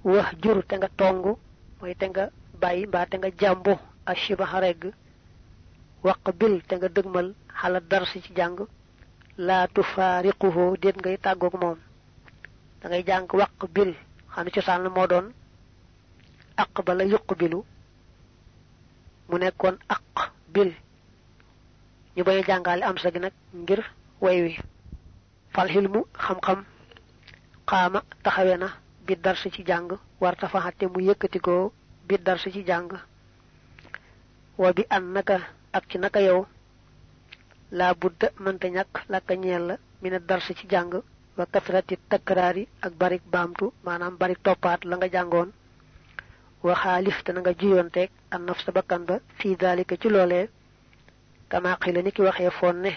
wax jur te nga tongu moy te nga bayyi ba te nga jambu ashibaha reg waqbil te nga deugmal xala darsi ci jang la tufariquhu det ngay tagok mom da ngay jang waqbil xana ci san mo don aqbala yuqbilu mu nekkon aqbil ñu bay jangal am sa gi nak ngir way wi fal hilmu xam xam qama taxawena bi darsi ci jang warta faxate mu yëkëti ko bi darsi ci jang wa bi annaka ak ci naka yow la budda mënta ñak la ka ñeel min darsi ci jang wa kasrati takrari ak barik bamtu manam barik topat la nga jangon wa khalif tan nga jiyontek an nafs bakkan ba fi dalika ci lolé kama qila niki waxe fonne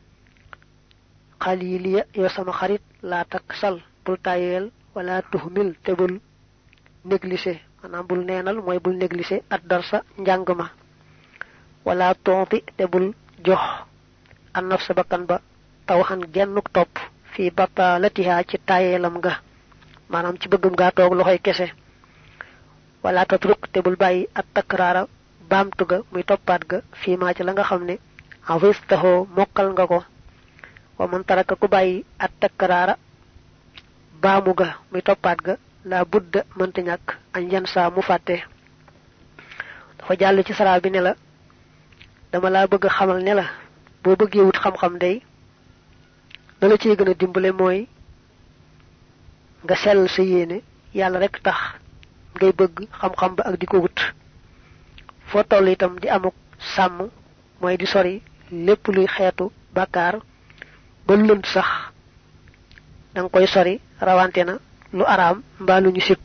qaliliya yo sama xarit la taksal bul tayel wala tuhmil tebul négliger manam bul neenal moy bul négliger ad darsa njangma wala tonti tebul jox an nafs bakkan ba tawhan gennuk top fi batalatiha ci tayelam nga manam ci bëggum ga tok loxoy kesse wala tatruk tebul bayyi at takrara bamtu ga muy topat ga fi ma ci la nga xamne awistaho mokal nga ko wa man taraka ku bayyi at takrara bamu ga muy topat ga la budda mënta ñak an yan sa mu faté dafa jall ci sara bi ne la dama la bëgg xamal ne la bo bëggé wut xam xam day da la ci gëna dimbalé moy nga sel sa yéene yalla rek tax ngay bëgg xam xam ba ak diko wut fo toll itam di amuk sam moy di sori lepp luy xéetu bakar ba lënd sax dang koy sori rawantena lu aram mba lu ñu sip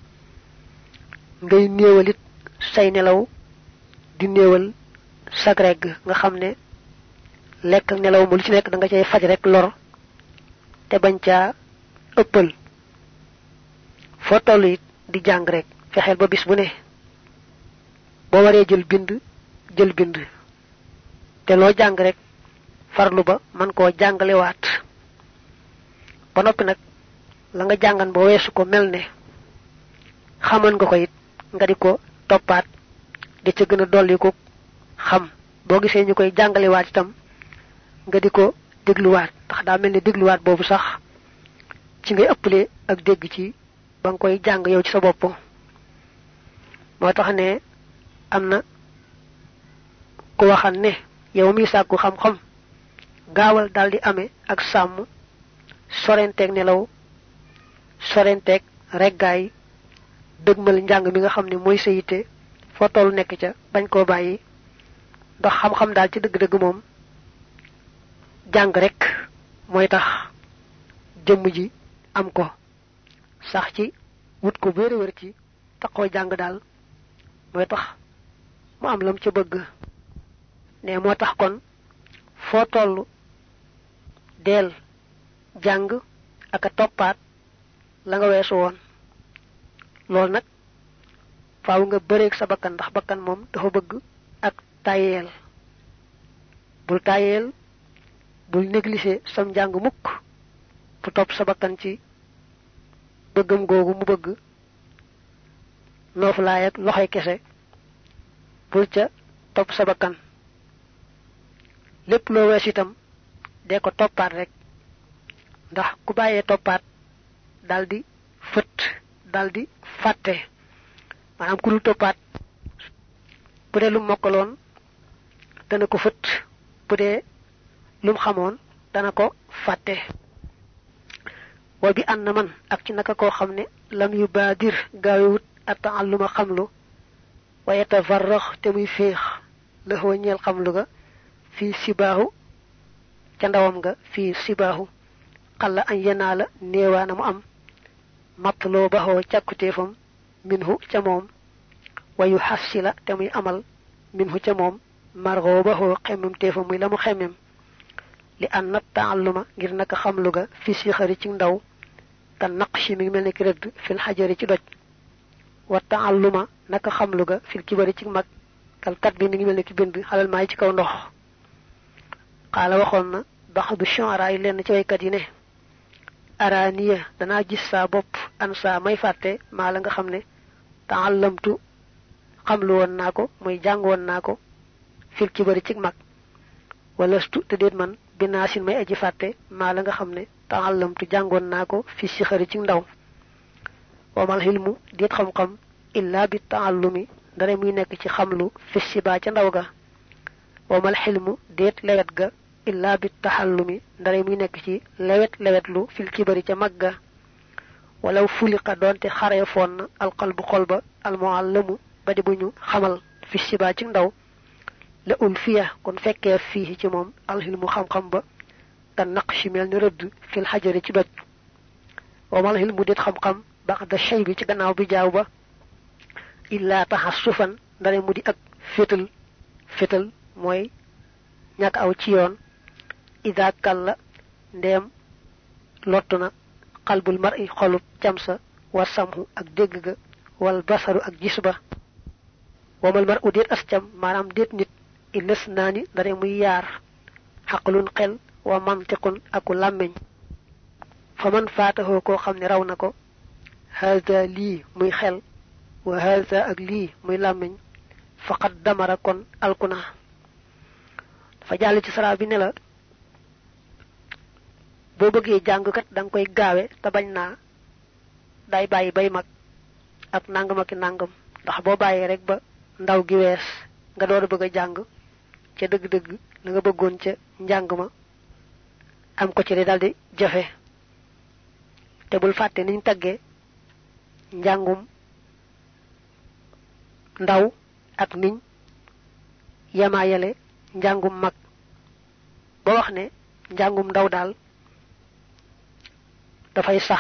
ngay neewalit say nelaw di neewal sagreg nga xamne lek ak nelaw mu lu ci nek da nga cey faj rek lor te bañ ca ëppal fo tollu di jang rek fexel ba bis bu ne bo waré jël bind te lo jang rek farlu ba man ko jangale wat ba nopi nak la nga jangan bo wessu ko melne xaman nga ko it nga diko topat di ci gëna dolli ko xam bo gisé ñukoy jangale wat itam nga diko deglu wat tax da melni deglu wat bobu sax ci ngay ëppalé ak dégg ci bang koy jang yow ci sa bop mo tax ne amna ko waxan ne yow mi sakku xam xam gaawal daldi amé ak sam sorentek nelaw sorentek reggaay deugmal njang mi nga xamni moy seyité fo tollu nek ca bañ ko bayyi ndax xam xam dal ci deug deug mom jang rek moy tax jëm ji am ko sax ci wut ko wër wër ci taxo jang dal moy tax mu am lam ci bëgg né mo tax kon fo tollu del jang ak topat la nga wessu won lol nak faaw nga bëreek sa bakkan ndax bakkan mom dafa bëgg ak tayel bul négliger sam jang mukk bu top sa bakkan ci bëggum gogu mu bëgg nof laay ak loxay kesse bul ca top sa bakkan lepp lo wess itam de ko topat rek ndax ku baye topat daldi feut daldi faté manam ku lu topat bu dé lu mokalon dana ko feut bu dé lum xamone dana ko faté wa bi anna man ak ci naka ko xamné lam yubadir gaawut at'alluma xamlu wa yatafarrakh te muy feex la ho ñeel xamlu ga fi sibahu ca ndawam nga fi sibahu qalla an yanala neewana mu am matlo baho ciakutefam minhu ca mom wa yuhassila te muy amal minhu ca mom margo baho xemum tefam muy lamu xemem li an ta'alluma ngir naka xamlu ga fi sikhari ci ndaw kan naqshi mi melni ki redd fil hajari ci doj wa ta'alluma naka xamlu ga fil kibari ci mag kal kat bi mi melni ki bind halal may ci kaw ndox qala waxon na ba'du shu'ara yi len ci way kat yi ne araniya dana gis sa bop an sa may fatte ma la nga xamne ta'allamtu xamlu won nako muy jang won nako fil kibari ci mag walastu te det man binasin may aji fatte ma la nga xamne ta'allamtu jangon nako fi sikhari ci ndaw wa mal hilmu det xam xam illa bi ta'allumi dara muy nek ci xamlu fi siba ci ndaw ga wa mal hilmu det lewet ga illa bi tahallumi dara muy nek ci lewetlu fil kibari ci magga walaw fuliqa donte xare fon al qalbu qalba al muallamu badi buñu xamal fi siba ci ndaw la ulfiya kon fekke fi ci mom al hilmu xam xam ba tan naqshi mel ni reud fil hajari ci doj wa mal hilmu det xam xam ba'da shaybi ci gannaaw bi jaaw ba illa tahassufan dara mudi ak fetal moy ñak aw ci yoon ida kala ndem lotuna qalbul mar'i xolub jamsa wa samhu ak dégg ga wal basaru ak gisba wa mal mar'u det ascam manam det nit ilasnani dara muy yar haqlun qel wa mantiqun aku lamiñ faman fatahu ko xamni raw nako hada li muy xel wa hada ak li muy lamiñ faqad damara kon alkuna fa jall ci sara bi ne la bo bëggee jàng kat dang koy gaawé ta bañ na day bayyi bay mag ak nangam ak nangam ndax bo bayé rek ba ndaw gi wess nga door bëgg jàng ci deug deug la nga bëggoon ci njàng ma am ko ci daldi jafé té bul faté niñ taggé njàngum ndaw ak niñ yamayale njàngum mag bo wax ne njàngum ndaw dal da fay sax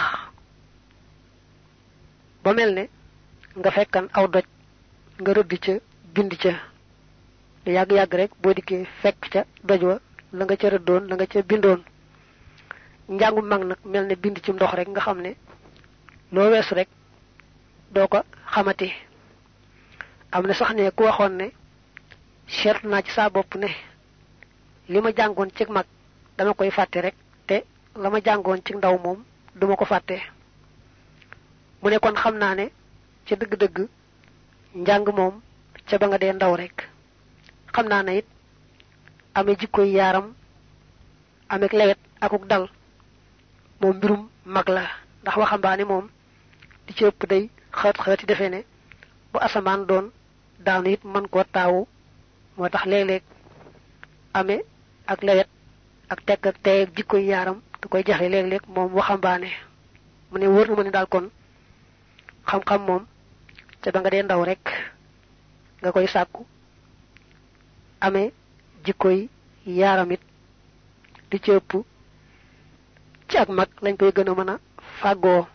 ba melne nga fekkan aw doj nga rëdd ca bind ca yag yag rek bo diké fekk ca doj wa la nga ca rëddoon la nga ca bindoon njàngum mag nak melne bind ci ndox rek nga xamne lo wess rek doko xamati amna sax ne ku waxon ne seet na ci sa bop ne lima jangon ci mag dama koy faté rek te lama jangon ci ndaw mom duma ko faté mu ne kon xamna ne ci deug deug njang mom ca ba nga dé ndaw rek xamna ne it amé jikkoy yaram amé lewet akuk dal mom mbirum mag la ndax waxambaane mom di ci ëpp day xati defé ne bu asaman doon daanu it man ko taawu motax léeg-léeg amé ak lewet ak tek ak tay jikkoy yaram da koy jaxé léeg-léeg mom waxambaane mu ne wër na ma ne daal kon xam-xam mom ca ba nga dee ndaw rek nga koy sàkku amé jikkoy yaramit di ci ëpp ci ak mag lañ koy gëna mëna fàggoo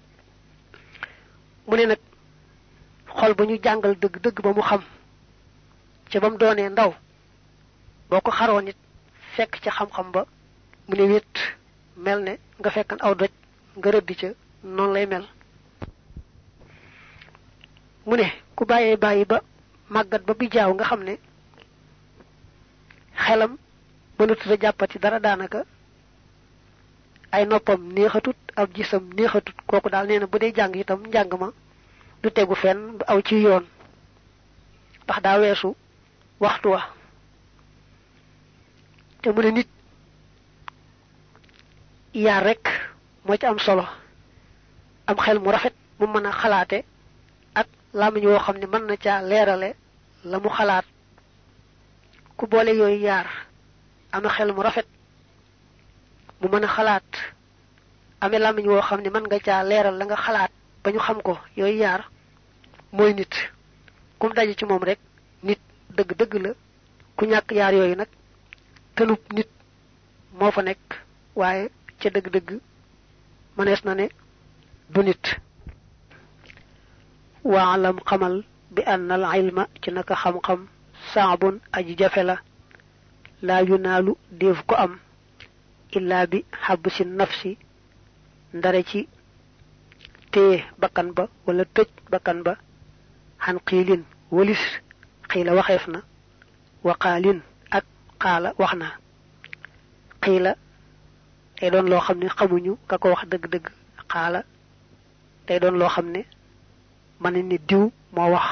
mu ne nag xol bu ñu jàngal dëgg-dëgg ba mu xam ca bam doonee ndaw boko xaroo nit fekk ci xam-xam ba mu ne wét mel ne nga fekkan aw doj nga rëdd ca non lay mel mu ne ku bàyyee bàyyi ba màggat ba bi jaaw nga xam ne xelam mënatu la jàppati dara daanaka ay noppam neexatut ab gisam neexatut kooku daal nee na bu dee jàng itam njàng ma du tegu fenn du aw ci yoon ndax daa weesu waxtu wa te mu ne nit yaar rek moo ci am solo am xel mu rafet mu mën a xalaate ak lamiñ woo xam ne mën na caa leerale la mu xalaat ku boole yooyu yaar am xel mu rafet mu mën a xalaat amé lamiñ woo xam ne mën nga caa leeral la nga xalaat ba ñu xam ko yooyu yaar mooy nit kum daje ci moom rek nit dëgg dëgg la ku ñàkk yaar yooyu nag tëlub nit moo fa nekk waaye ca dëgg dëgg mënees na ne du nit waalam xamal bi anna al ilma ci naka xam-xam saabun aji jafe la laa yunaalu déef ko am illa bi habsi nafsi ndare ci téye bakkan ba wala tëj bakkan ba xan xiilin walis xiila waxeef na waqaalin ak xaala wax na xiila tay doon lo xamne xamuñu ka ko wax deug deug xala tay doon lo xamne man ni diw mo wax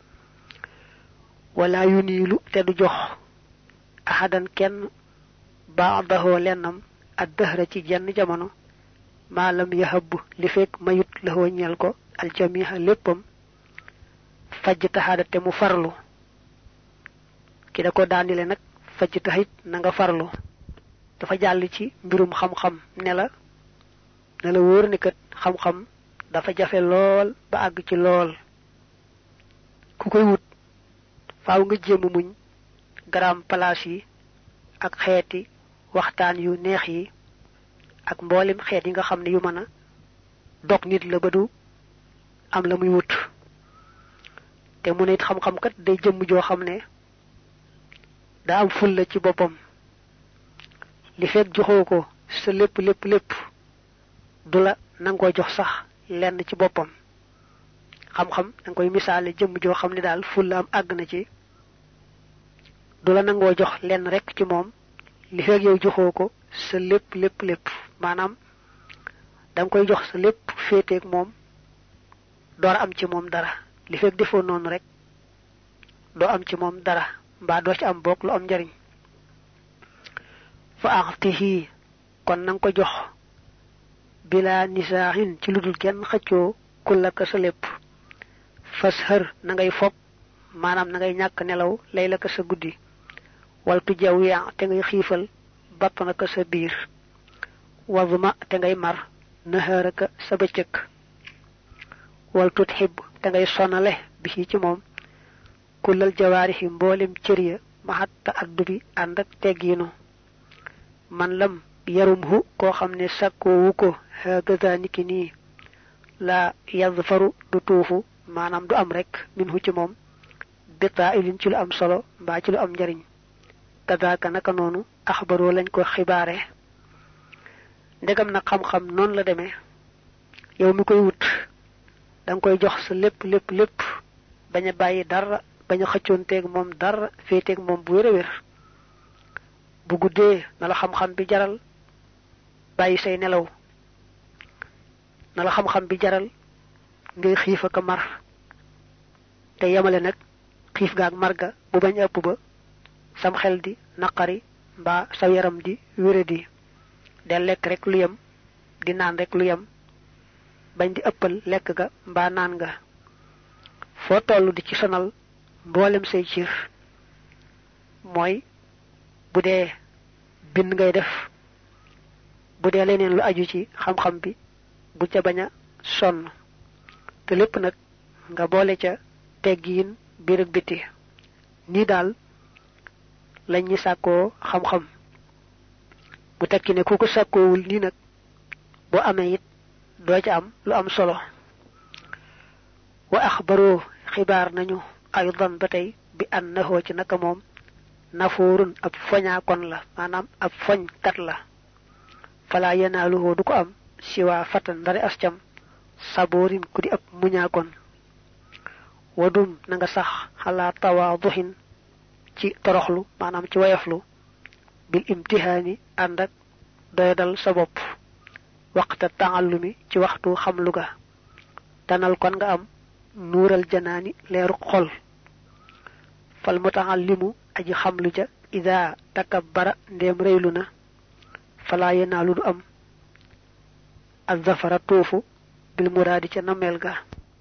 wala yunilu te du jox ahadan kenn ba'dahu lennam ad-dahra ci jenn jamono malam yahab li fek mayut la ñal ko al jami'a leppam fajj tahada te mu farlu ki da ko daanile nak fajj tahit na nga farlu dafa jall ci mbirum xam xam ne la wóor ni kat xam xam dafa jafe lool ba ag ci lool ku koy wut faaw nga jëm muñ gram place yi ak xéeti waxtaan yu neex yi ak mbolim xéet yi nga xamne yu mëna dok nit la badu am la muy wut té mu nit xam xam kat day jëm jo xamne da am ful la ci bopam li fek joxoko sa lepp dula nango jox sax lenn ci bopam xam xam dang koy misale jëm jo xamne dal ful la am ag na ci dula nango jox lenn rek ci mom li fek yow joxoko sa lepp manam dang koy jox sa lepp fété ak mom door am ci mom dara li fek defo non rek do am ci mom dara mba do ci am bok lu am njariñ fa aqtihi kon nang ko jox bila nisahin ci ludul kenn xëccio kulaka sa lepp fashar na ngay fop manam na ngay ñak nelaw laylaka sa guddi wal tu jawiya te ngay xifal batnaka sa biir wazma te ngay mar naharaka sa beccëk wal tuthib te ngay sonale bi ci mom kulal jawarihi mbolim cëriya mahatta addubi and ak tegginu man lam yarumhu ko xamne sakko wuko hagaza nikini la yazfaru du tuufu manam du am rek minhu ci mom beta ilin ci lu am solo ba ci lu am njariñ kadaka naka nonu akhbaru lañ ko xibaare ndegam na xam xam non la démé yow mi koy wut dang koy jox sa lepp baña bayyi dara baña xëccionté ak mom dara fété ak mom bu wéré bu guddé na la xam xam bi jaral bayyi say nelaw na la xam xam bi jaral ngay xiif ak mar te yamale nak xiif gaak marga bu bañ ëpp ba sam xel di naqari ba sa yaram di wéradi del lek rek lu yam di naan rek lu yam bañ di ëppal lek ga mba naan nga fo tollu di ci sonal mbolem say ciir moy budé bind ngay def budé leneen lu aju ci xam xam bi bu ca baña son te lepp nak nga bolé ca teggiin biir ak biti ni dal lañ ñi sàkkoo xam-xam bu tekki ne ku ko sàkkoowul ni nag bo amee it doo ca am lu am solo wa akhbaru xibaar nañu aydan batay bi annahu ci naka moom nafurun ab foña kon la manam ab foñ kat la fala yanaaluhu du ko am siwa fatan dara ascam saborin ku di ab muña kon wadum na nga sax ala tawaduhin ci toroxlu manam ci wayaflu bil imtihani andak doyadal sa bop waqta ta'allumi ci waxtu xamlu ga tanal kon nga am nural janani leeru xol fal muta'allimu aji xamlu ja idha takabbara ndem reyluna fala yanalu du am az-zafara tufu bil muradi ci namel ga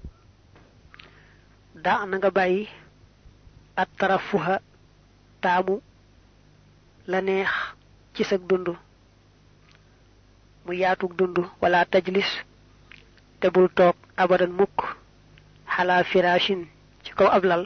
da na nga bayyi at tarafuha taamu la neex ci sa dundu mu yaatug dundu wala tajlis te bul tok abadan mukk hala firashin ci kaw ablal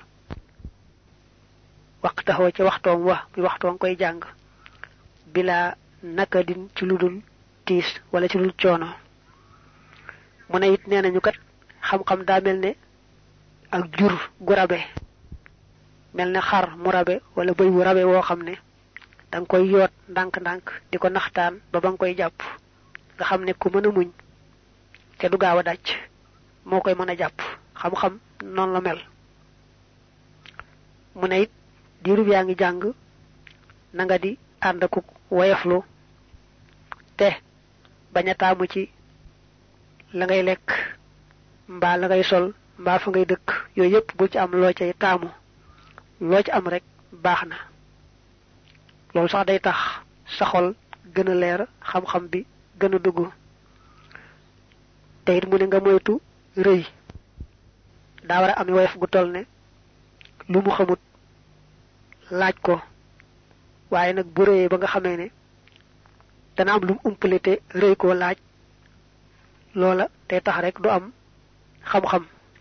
waqtahu ci waxtom wa bi waxtom koy jang bila nakadin ci ludul tis wala ci lul ciono mu ne it nenañu kat xam xam da melne ak jur gu rabe melne xar mu rabe wala bëy wu rabe wo xamne dang koy yot ndank ndank diko naxtaan ba bang koy japp nga xamne ku mëna muñ te du gaawa dacc mo koy mëna japp xam xam non la mel mu ne it diirub yaa ngi jàng na nga di ànd ak wayaflu te baña taamu ci la ngay lekk mbaa la ngay sol mbaa fa ngay dëkk yooyu yépp bu ci am loo cay taamu loo ci am rek baax na loolu sax day tax sa xol gën a leer xam-xam bi gën a dugg te it mu ne nga moytu rëy daa war a am woyof gu toll ne lu mu xamut laaj ko waaye nag bu rëyee ba nga xamee ne dana am lu mu umpale te rëy koo laaj loola day tax rek du am xam-xam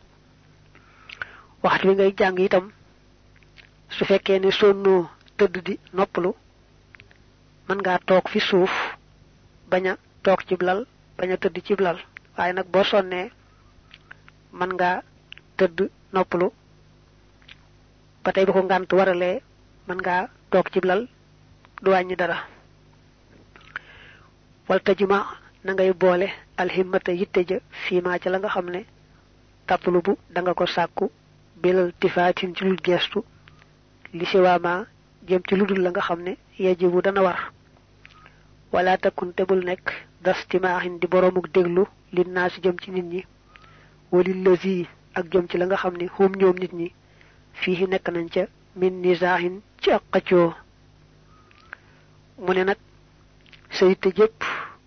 waxtu wi ngay jàng itam su fekkee ne sonnoo tëdd di noppalu mën ngaa toog fi suuf bañ a toog ci lal bañ a tëdd ci lal waaye nag boo sonnee mën ngaa tëdd noppalu ba tey bu ko ngànt waralee mën ngaa toog ci lal du wàññi dara wal tajuma na ngay boole alhimmata yitte ja fiima ca la nga xam ne tatlubu da nga ko sàkku bilal tifaatin ci lul gestu li siwaama jëm ci ludul la nga xam ne yajibu dana war wala takun tebul nekk dastimaahin di boromuk déglu lin naasi jëm ci nit ñi walil lazi ak jëm ci la nga xam ne hum ñoom nit ñi fii nekk nañ ca min nizaahin ci ak xëccoo mu ne nag sa yitte jëpp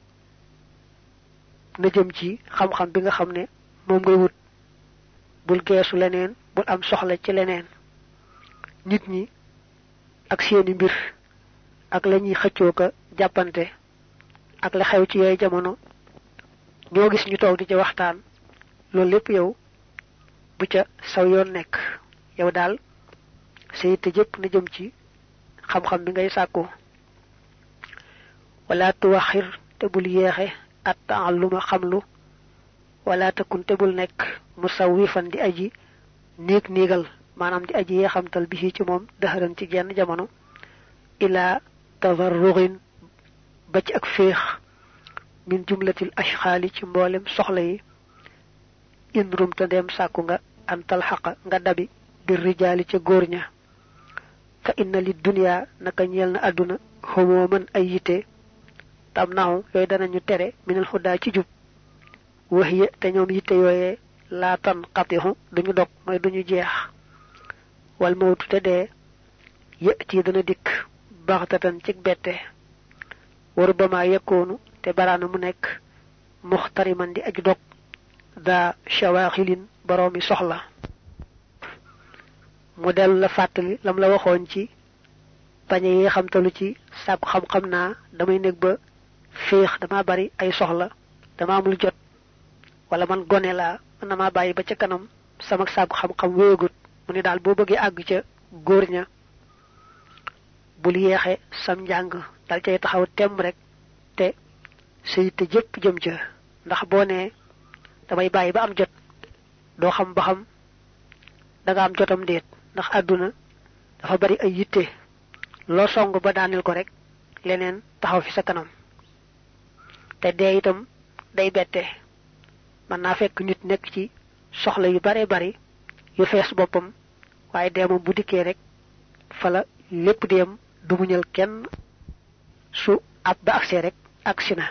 na jëm ci xam-xam bi nga xam ne moom ngay wut bul geesu leneen bul am soxla ci leneen nit ñi ak seeni mbir ak lañuy xëccoo ka jàppante ak la xew ci yooyu jamono ñoo gis ñu toog di ci waxtaan loolu lépp yow bu ca saw yoon nekk yow daal sa yitte jëpp na jëm ci xam-xam bi ngay sàkku wala tuwaxir te bul yeexe at taalluma xamlu wala takun te bul nekk musawwifan di aji néeg-néegal maanaam di aji yeexamtal bi ci moom daxaran ci genn jamono ila tavarruxin ba ci ak féex min jumlatil ashxaali ci mboolem soxla yi in rumta ndem sàkku nga antal xaqa nga dabi bir rijaali ca góor ña fa inna li dunya naka ñeel na àdduna xomoo mën ay yite tam naaw yooyu danañu tere minal xudaa ci jub waxiya te ñoom yitte yooyee laa tan xatixu duñu dog mooy duñu jeex wal mawtu te dee yëti dana dikk baxtatan ci bette waru bama yekkoonu te baraana mu nekk muxtariman di aju dog daa shawaaxilin boroomi soxla mu dellu la fàttali lam la waxoon ci pañe yi xamtalu ci sàkku xam-xam naa damay nekk ba féex dama bari ay soxla dama amul jot wala man gone laa mën na maa bàyyi ba ca kanam sama sàkku xam-xam wéegut mu ne daal boo bëggee àgg ca góor ña bul yeexe sam njàng dal cay taxaw temm rek te sa yitte jëpp jëm ca ndax boo nee damay bàyyi ba am jot doo xam ba xam danga am jotam déet ndax àdduna dafa bari ay yitte loo song ba daanil ko rek leneen taxaw fi sa kanam te dee itam day bette mën naa fekk nit nekk ci soxla yu bare bari yu fees boppam waaye dee moom bu dikkee rek fala lépp dem du muñal kenn su ab ba agsee rek agsi na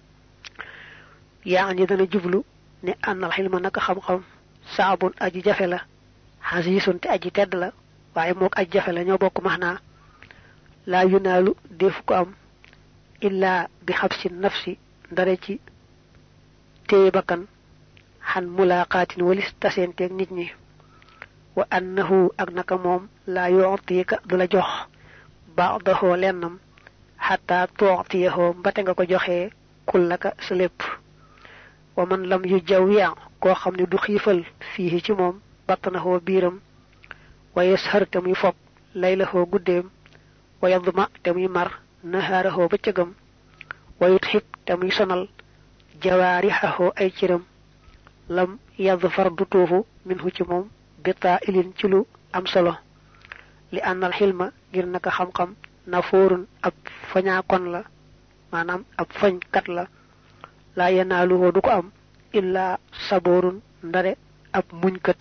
yaa ani dana jublu ne ànnal xilma naka xam-xam saabun aji jafe la xasiisun te aji tedd la waaye mook aji jafe la ñoo bokk max naa laa yunaalu defu ko am illaa bi xabsi nafsi ndare ci téye bakkan xan mulaqaatin walis taseenteeg nit ñi wa annahu ak naka moom laa yu'tika du la jox ba'dahu lennam xataa tu'tiyahu mbate nga ko joxee kullaka sa lépp wa man lam yu jawya koo xam ne du xiifal fii ci moom batnahu biiram wa yashar te muy fob laylahu guddeem wa yadma te muy mar nahaarahu bëccëgam wa yutxib te muy sonal jawaarixahu ay ciram lam yadfar du tuufu minhu ci moom bitaa ilin ci lu am solo li ànnal xilma ngir naka xam-xam nafoorun ab fañaakon la maanaam ab fañkat la laa yanaaluhu du ko am illaa saboorun ndare ab muñkat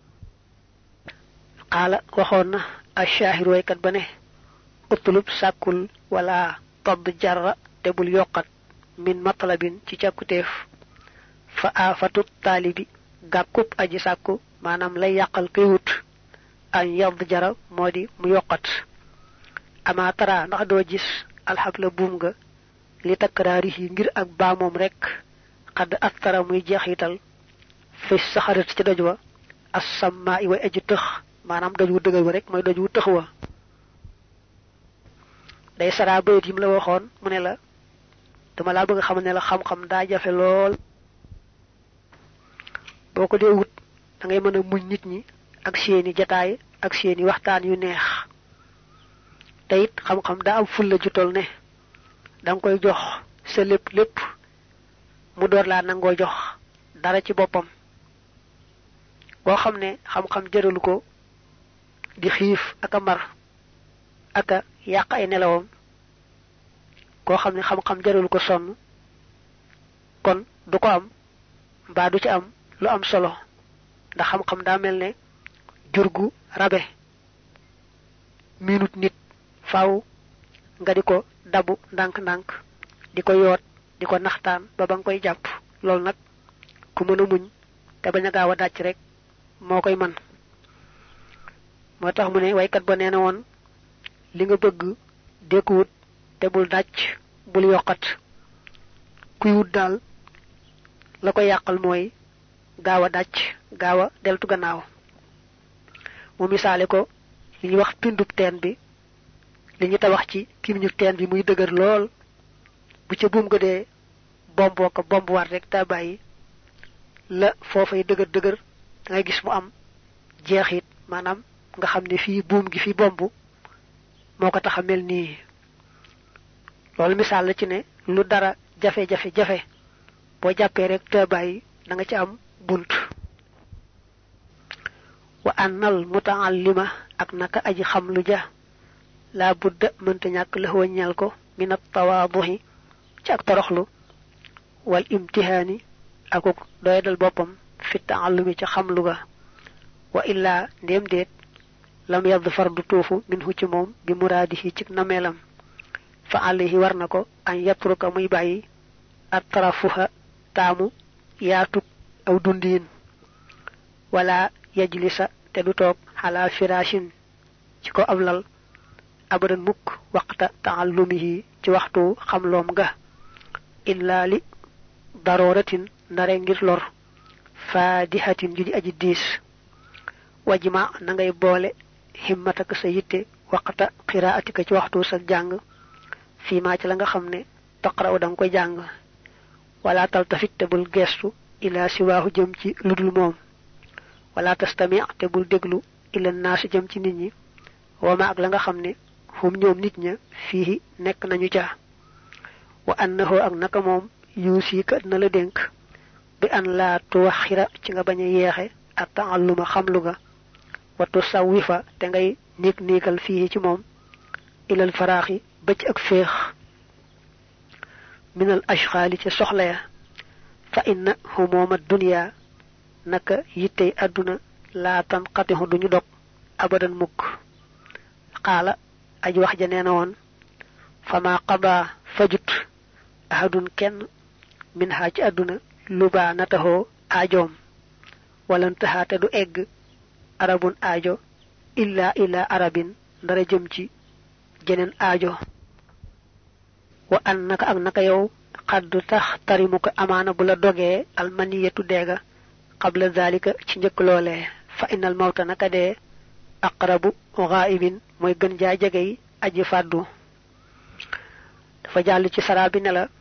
xaala waxoon na ash-shaahir waykat ba ne utlub sàkkul wala todd jarra te bul yokkat min matlabin ci càkkuteef fa afatu taalibi gàkkub aji sàkku maanaam lay yàqal kay wut an yadd jara moo di mu yokkat ama tara ndax doo gis alxabla buum nga li takkaraari yi ngir ak baamoom rek xadd astara muy jeexital fi saxarat ci doj wa assammaa i way aji tëx maanaam doj wu dëgër wa rek mooy doj wu tëx wa day sara bayit yim la waxoon mu ne la dama laa bëgg xam ne la xam-xam daa jafe lool boo ko dee wut da ngay mën a muñ nit ñi ak seeni jataay ak seeni waxtaan yu neex te it xam-xam daa am fulla ju tol ne da nga koy jox sa lépp mu door laa nangoo jox dara ci boppam boo xam ne xam-xam jëralu ko di xiif ak a mar ak a yàq ay nelawam koo xam ne xam-xam jëralu ko sonn kon du ko am mbaa du ci am lu am solo ndax xam-xam daa mel ne jurgu rabe minute nit faaw nga di ko dabu ndànk-ndànk di ko yoot di ko naxtaan ba ba nga koy jàpp loolu nag ku mën a muñ te bañ a gaaw a dàcc rek moo koy man moo tax mu ne waykat ba nee na woon li nga bëgg dékku wut te bul dàcc bul yokkat kuy wut daal la ko yàqal mooy gaaw a dàcc gaaw a deltu gannaaw mu misaale ko li ñuy wax pindub teen bi li ñu tabax ci kimiñu teen bi muy dëgër lool bu ca buum ga dee bomboo ko bombuwaat rek daa bàyyi la foofay dëgër da ngay gis mu am jeexit maanaam nga xam ne fii buum gi fi bomb moo ko tax a mel nii loolu misaal la ci ne lu dara jafe-jafe boo jàppee rek daa bàyyi da nga ci am bunt wa annal mutaallima ak naka aji xam lu ja la budda mënta ñàkk la waññal ko min at-tawaaduhi ci ak toroxlu wal imtihaani akuk doyadal boppam fi taallumi ci xam lu ga wa illaa ndéem déet lam yadfar du tuufu minhu ci moom bi muraadihi ci nameelam fa alayhi war na ko an yatruka muy bàyyi at tarafuha taamu yaatug aw dundiin wala yajlisa te du toog xalaa firashin ci ko ab lal abadan mukk waqta taallumihi ci waxtu xamloom ga illa li daruratin ndare ngir lor faadihatin ju di aji diis wajma na ngay boole himmataka sa yitte waqta qiraatika ci waxtu sa jàng fii maa ci la nga xam ne taqra'u da nga koy jàng wala taltafit te bul gestu ila siwaahu jëm ci ludul moom wala tastami' te bul déglu ila naas jëm ci nit ñi wama ak la nga xam ne hum ñoom nit ña fii nekk nañu ca wa annahu ak naka moom yuusika na la dénk bi an laa tuwaxira ci nga bañ a yeexe ak taalluma xamlu ga wa tusawifa te ngay niigal fii ci moom ilal faraaxi ba ci ak féex minal ashxaali ca soxla ya fa inna humooma dunya naka yittey àdduna laa tanqatixu duñu dog abadan mukk xaala aj wax ja nee na woon fama qada fajut ahadun kenn min haa ci àdduna lubaa nataxoo aajoom walantaxaate du egg arabun aajo illa arabin ndara jëm ci jeneen aajo wa an naka ak naka yow xaddu tax tarimu ko amaana bu la dogee almaniyatu deega qabla zalika ci njëkk loolee fa innal mawta naka dee aqrabu ghaibin mooy gën jaa jegey aji fàddu dafa jàll ci saraa bi ne la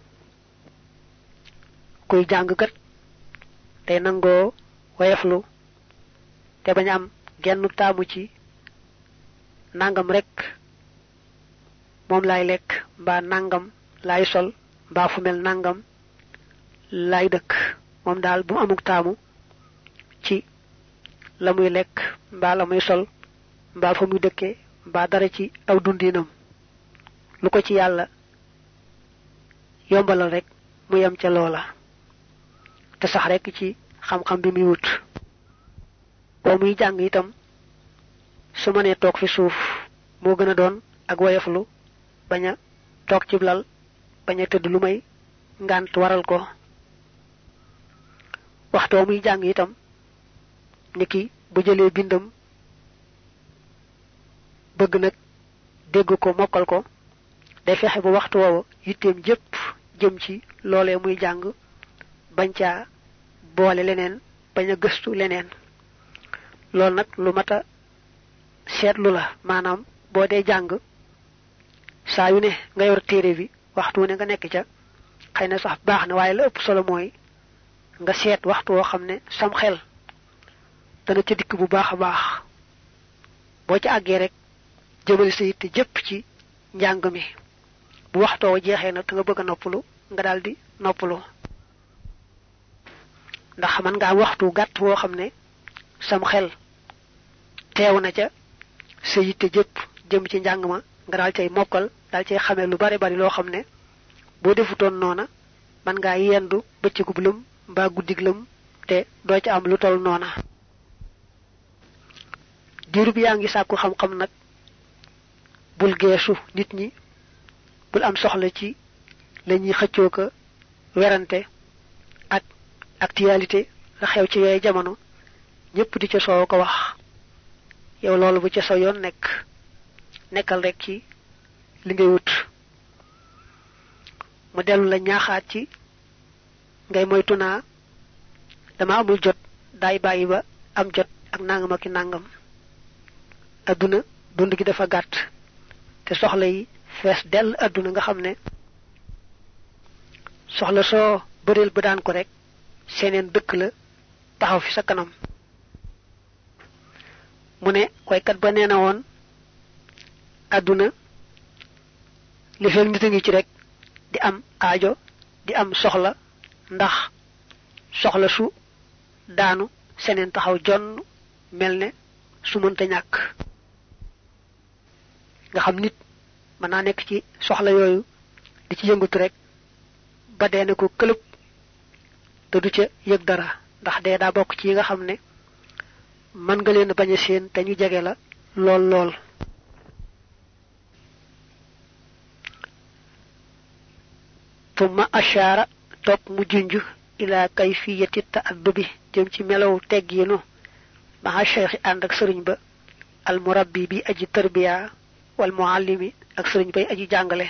kuy jàngkat tey nangoo woyeflu te bañ am genn taamu ci nangam rek moom laay lekk mbaa nangam laay sol mbaa fu mel nangam laay dëkk moom daal bu mu amuk taamu ci la muy lekk mbaa la muy sol mbaa fa muy dëkkee mbaa dara ci aw dundinam lu ko ci yàlla yombalal rek mu yem ca loola te sax rek ci xam-xam bi muy wut boo muy jàng itam su ma nee toog fi suuf moo gën a doon ak woyoflu bañ a toog ci lal bañ a tëdd lu may ngant waral ko waxto muy jang itam niki bu jëlé bindam bëgg nak dégg ko mokal ko day fexé bu waxtu woowu yitteem jëpp jëm ci loolee muy jàng bañ caa boole leneen bañ a gëstu leneen loolu nag lu mata seetlu la maanaam boo dee jàng saa yu ne nga yor téere bi waxtu ne nga nekk ca xëy na sax baax na waaye la ëpp solo mooy nga seet waxtu woo xam ne sam xel dana ca dikk bu baax a baax boo ca àggee rek jëmale sa yitte jëpp ci njàng mi bu waxtoo jeexee nag nga bëgg a noppalu nga daldi noppalu ndax man nga am waxtu gàtt woo xam ne sam xel teew na ca sa yitte jëpp jëm ci njàng ma nga daal cay mokkal daal cay xamee lu bari bari loo xam ne boo defutoon noona man ngaa yendu bëccëgub lëm mbaa guddig lëm te doo ca am lu tol noona diiru bi yaa ngi sàkku xam-xam nag bul geesu nit ñi bul am soxla ci lañuy xëccoo ko werante ak actualité la xew ci yooyu jamono ñëpp di ca soow ko wax yow loolu bu ca sa yoon nekkal rek ci li ngay wut mu dellu la ñaaxaat ci ngay moytu naa dama amul jot daay bàyyi ba am jot ak nangam ak nangam aduna dund gi dafa gàtt te soxla yi fees dell aduna nga xam ne soxla soo bëreel ba daan ko rek seneen dëkk la taxaw fi sa kanam mu ne waykat ba nee na woon aduna li fekk nit a ngi ci rek di am aajo di am soxla ndax soxla su daanu seneen taxaw jonn mel ne su mënta ñàkk nga xam nit mën naa nekk ci soxla yooyu di ci yëngutu rek ba dee ne ko këlëb te du ca yëg dara ndax dee daa bokk ci yi nga xam ne mën nga leen bañ a seen te ñu jege la lool lool ثم أشار توب مجنج إلى كيفية التأدب جم ci melaw tegginu مع الشيخ عندك سرين با المربي بي أجي تربية والمعلم ak سرين باي أجي جانغلي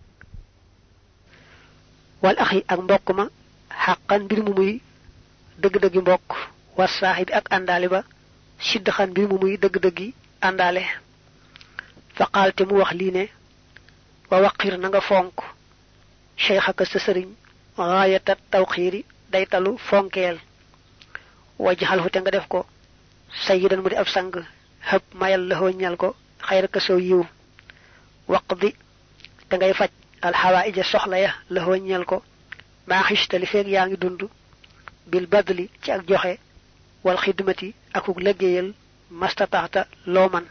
والأخي ak mbokk ma حقا bir mu muy deug deug mbokk والصاحب ak andale ba sidxan bir mu muy deug deug andale فقالت mu wax li ne wa waqir na nga fonk شيخك سسرين غاية التوخير دايتالو فونكيل وجهاله تنغا ديفكو سيدا مودي اب سانغ هب مايل له ñal ko خير كسو يو وقضي تنغاي فاج الحوائج سخلا يا له ñal ko ما خشت لي فيك ياغي دوندو بالبدل تي اك جوخه والخدمتي اكو لغيال مستطاعت لومن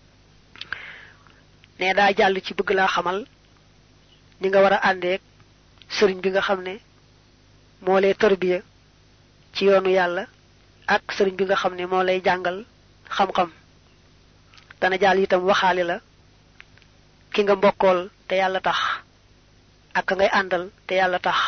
ne da jall ci bëgg la xamal ni nga wara andé sëriñ bi nga xamné mo lay tarbiya ci yoonu yalla ak sëriñ bi nga xamné mo lay jangal xam xam dana jall itam waxali la ki nga mbokol te yalla tax ak ngay andal te yalla tax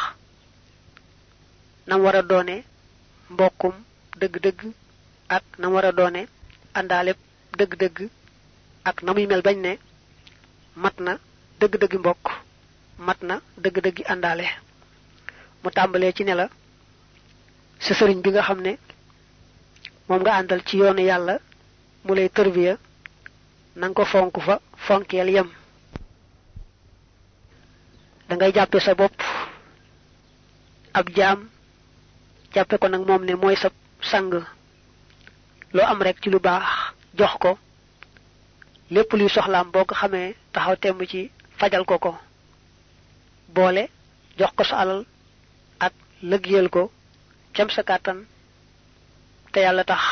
nam wara doone mbokum deug deug ak nam wara doone andale deug deug ak namuy mel bañ ne matna deug deug mbok matna deug deug andale mu tambalé ci ne la sa sëriñ bi nga xamné mom nga andal ci yoonu yalla mu lay tarbiya nang ko fonku fa fonkel yam da ngay jappé sa bop ab jam jappé ko nak mom ne moy sa sang lo am rek ci lu baax jox ko lepp luy soxlam boko xamé taxaw temb ci fajal ko ko boole jox ko sa alal ak lëggeel ko cam sa katan te yalla tax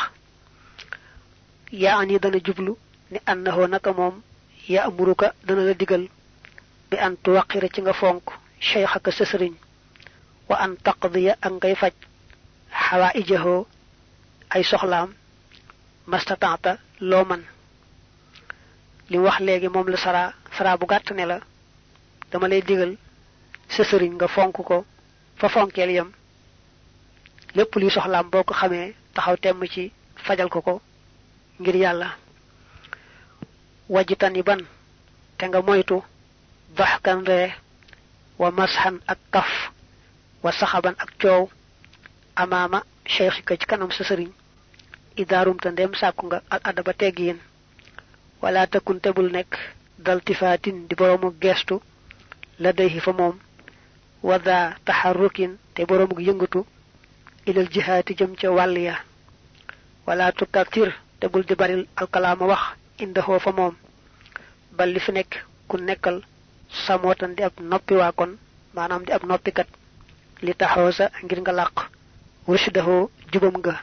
yaani dana jublu ni annahu naka mom ya amuruka dana la digal bi an tuwaqira ci nga fonk shaykhaka sa serigne wa an taqdiya ak ngay faj hawaijahu ay soxlam mastata'ta lo man li wax legi mom la sara bu gatt ne la dama lay digal sa serigne nga fonk ko fa fonkel yam lepp li soxlam boko xamé taxaw temm ci fajal ko ngir yalla wajitani ban te nga moytu bahkan re wa mashan ak kaf wa sahaban ak ciow amama cheikhika ci kanam sa serigne idarum ta ndem sakku nga al adaba teggiin wala takun tebul nek dal tifatin di boromu gestu la dayhi fa mom wada taharrukin te boromu yëngatu ilal jihati jëm ci waliya wala tukatir tebul di baril al kalama wax indaho fa mom bal li fi nek ku nekkal samotan di ab noppi wa kon manam di ab noppi kat li taxawsa ngir nga laq rushdahu jubam nga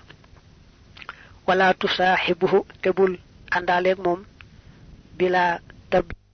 wala tusahibuhu tebul andale ak mom bila tab